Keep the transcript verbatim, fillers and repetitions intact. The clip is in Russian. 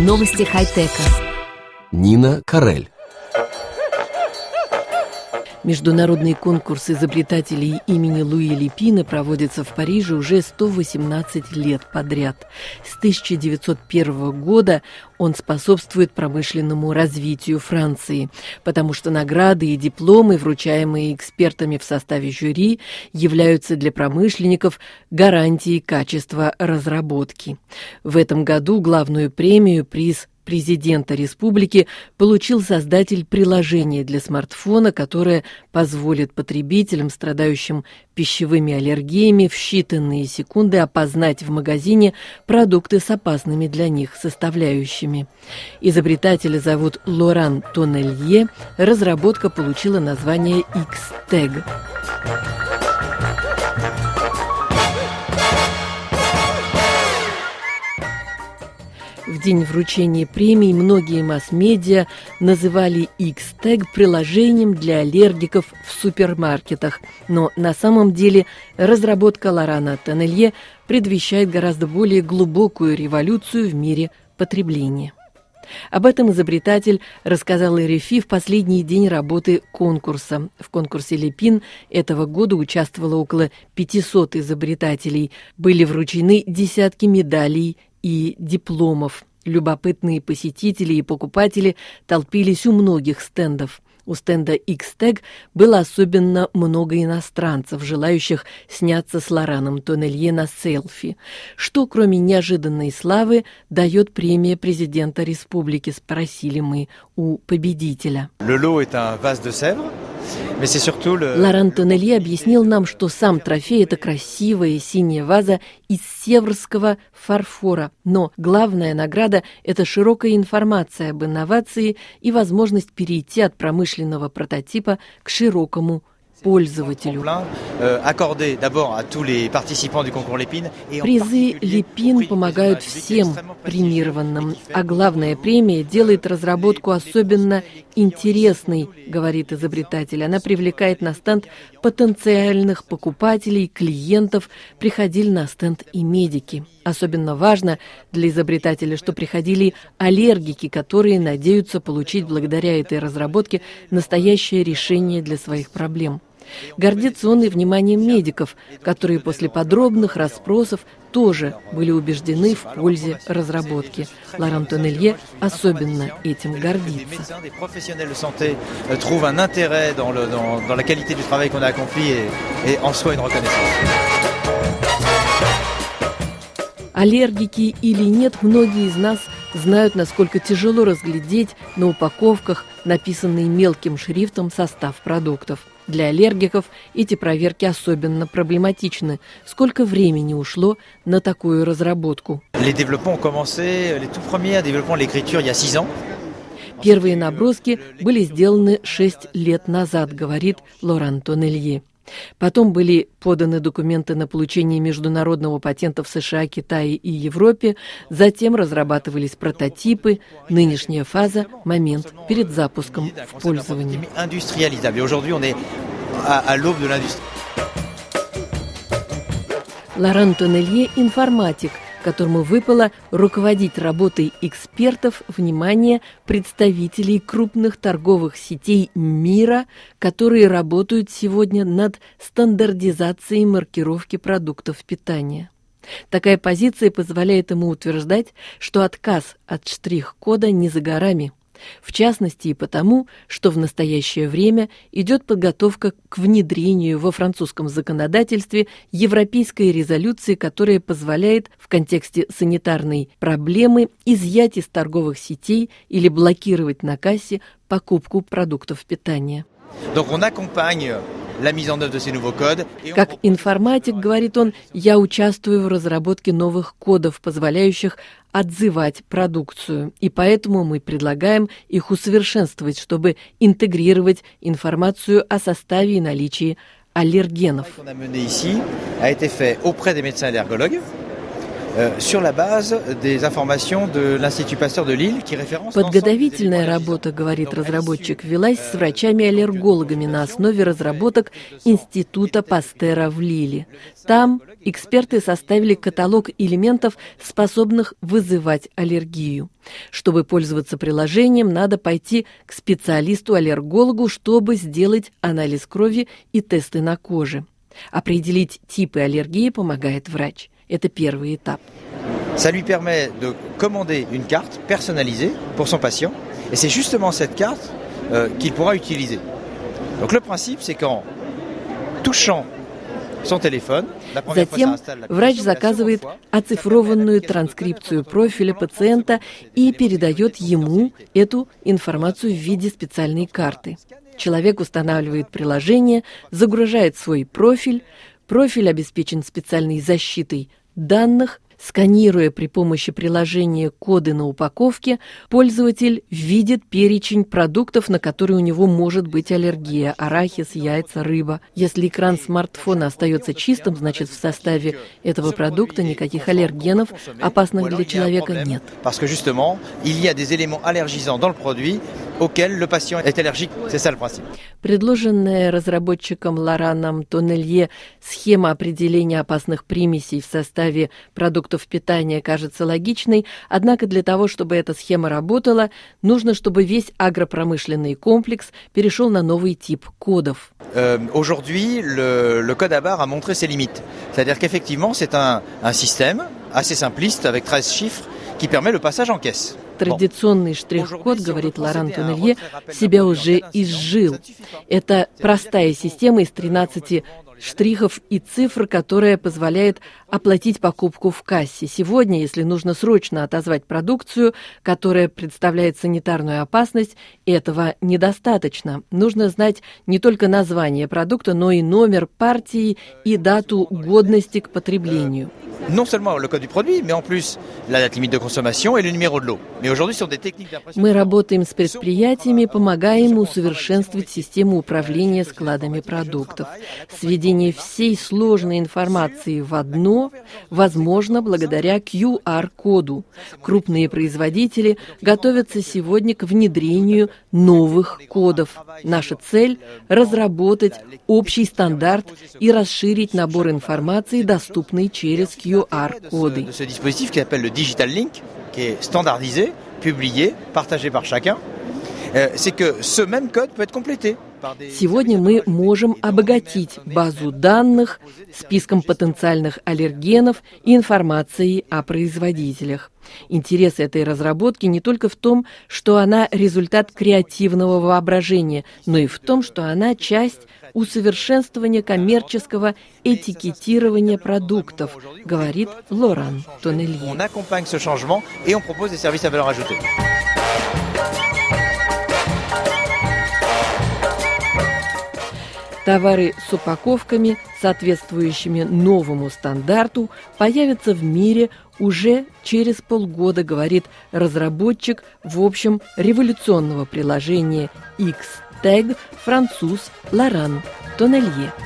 Новости хай-тека. Нина Карель. Международный конкурс изобретателей имени Луи Лепина проводится в Париже уже сто восемнадцать лет подряд. С тысяча девятьсот первого года он способствует промышленному развитию Франции, потому что награды и дипломы, вручаемые экспертами в составе жюри, являются для промышленников гарантией качества разработки. В этом году главную премию, приз президента республики, получил создатель приложения для смартфона, которое позволит потребителям, страдающим пищевыми аллергиями, в считанные секунды опознать в магазине продукты с опасными для них составляющими. Изобретателя зовут Лоран Тоннелье. Разработка получила название X-Tag. В день вручения премий многие масс-медиа называли X-Tag приложением для аллергиков в супермаркетах. Но на самом деле разработка Лорана Тоннелье предвещает гораздо более глубокую революцию в мире потребления. Об этом изобретатель рассказал эр эф и в последний день работы конкурса. В конкурсе Лепин этого года участвовало около пятисот изобретателей. Были вручены десятки медалей и дипломов. Любопытные посетители и покупатели толпились у многих стендов. У стенда X-Tag было особенно много иностранцев, желающих сняться с Лораном Тоннелье на селфи. Что, кроме неожиданной славы, дает премия президента республики, спросили мы у победителя. Лоран Тоннелье объяснил нам, что сам трофей – это красивая синяя ваза из севрского фарфора. Но главная награда – это широкая информация об инновации и возможность перейти от промышленного прототипа к широкому пользователю. Призы Лепин помогают всем премированным, а главная премия делает разработку особенно интересной, говорит изобретатель. Она привлекает на стенд потенциальных покупателей, клиентов. Приходили на стенд и медики. Особенно важно для изобретателя, что приходили аллергики, которые надеются получить благодаря этой разработке настоящее решение для своих проблем. Гордится он и вниманием медиков, которые после подробных расспросов тоже были убеждены в пользе разработки. Лоран Тоннелье особенно этим гордится. Аллергики или нет, многие из нас знают, насколько тяжело разглядеть на упаковках написанный мелким шрифтом состав продуктов. Для аллергиков эти проверки особенно проблематичны. Сколько времени ушло на такую разработку? Первые наброски были сделаны шесть лет назад, говорит Лоран Тоннелье. Потом были поданы документы на получение международного патента в США, Китае и Европе. Затем разрабатывались прототипы. Нынешняя фаза – момент перед запуском в пользование. Лоран Тоннелье – информатик, которому выпало руководить работой экспертов, внимание, представителей крупных торговых сетей мира, которые работают сегодня над стандартизацией маркировки продуктов питания. Такая позиция позволяет ему утверждать, что отказ от штрих-кода не за горами. В частности и потому, что в настоящее время идет подготовка к внедрению во французском законодательстве европейской резолюции, которая позволяет в контексте санитарной проблемы изъять из торговых сетей или блокировать на кассе покупку продуктов питания. Как информатик, говорит он, я участвую в разработке новых кодов, позволяющих отзывать продукцию, и поэтому мы предлагаем их усовершенствовать, чтобы интегрировать информацию о составе и наличии аллергенов. Подготовительная работа, говорит разработчик, велась с врачами-аллергологами на основе разработок Института Пастера в Лиле. Там эксперты составили каталог элементов, способных вызывать аллергию. Чтобы пользоваться приложением, надо пойти к специалисту-аллергологу, чтобы сделать анализ крови и тесты на коже. Определить типы аллергии помогает врач. Это первый этап. Ça lui permet de commander une carte personnalisée pour son patient, et c'est justement cette carte euh, qu'il pourra utiliser. Donc le principe, c'est qu'en touchant son téléphone, затем врач заказывает оцифрованную транскрипцию профиля пациента и передает ему эту информацию в виде специальной карты. Человек устанавливает приложение, загружает свой профиль, профиль обеспечен специальной защитой данных. Сканируя при помощи приложения коды на упаковке, пользователь видит перечень продуктов, на которые у него может быть аллергия – арахис, яйца, рыба. Если экран смартфона остается чистым, значит, в составе этого продукта никаких аллергенов, опасных для человека, нет. Предложенная разработчиком Лораном Тоннелье схема определения опасных примесей в составе продуктов питания кажется логичной, однако для того, чтобы эта схема работала, нужно, чтобы весь агропромышленный комплекс перешел на новый тип кодов. Aujourd'hui, le, le code à barres a montré ses limites. C'est-à-dire qu'effectivement, c'est un, un système assez simpliste avec treize chiffres qui permet le passage en caisse. Традиционный штрих-код, говорит Лоран Тоннелье, себя уже изжил. Это простая система из тринадцати штрихов и цифр, которая позволяет оплатить покупку в кассе. Сегодня, если нужно срочно отозвать продукцию, которая представляет санитарную опасность, этого недостаточно. Нужно знать не только название продукта, но и номер партии и дату годности к потреблению. Non seulement le code du produit, mais en plus la date limite de consommation et le numéro de lot. Mais aujourd'hui, sur des techniques d'impression. Мы работаем с предприятиями, помогаем усовершенствовать систему управления складами продуктов. Сведение всей сложной информации в одно возможно благодаря ку ар-коду. Крупные производители готовятся сегодня к внедрению новых кодов. Наша цель – разработать общий стандарт и расширить набор информации, доступный через ку ар-коды. De ce dispositif qui s'appelle le Digital Link, qui est standardisé, publié, partagé par chacun, c'est que ce même code peut être complété. Сегодня мы можем обогатить базу данных списком потенциальных аллергенов и информацией о производителях. Интерес этой разработки не только в том, что она результат креативного воображения, но и в том, что она часть усовершенствования коммерческого этикетирования продуктов, говорит Лоран Тоннелье. Товары с упаковками, соответствующими новому стандарту, появятся в мире уже через полгода, говорит разработчик, в общем, революционного приложения X-Tag, француз Лоран Тоннелье.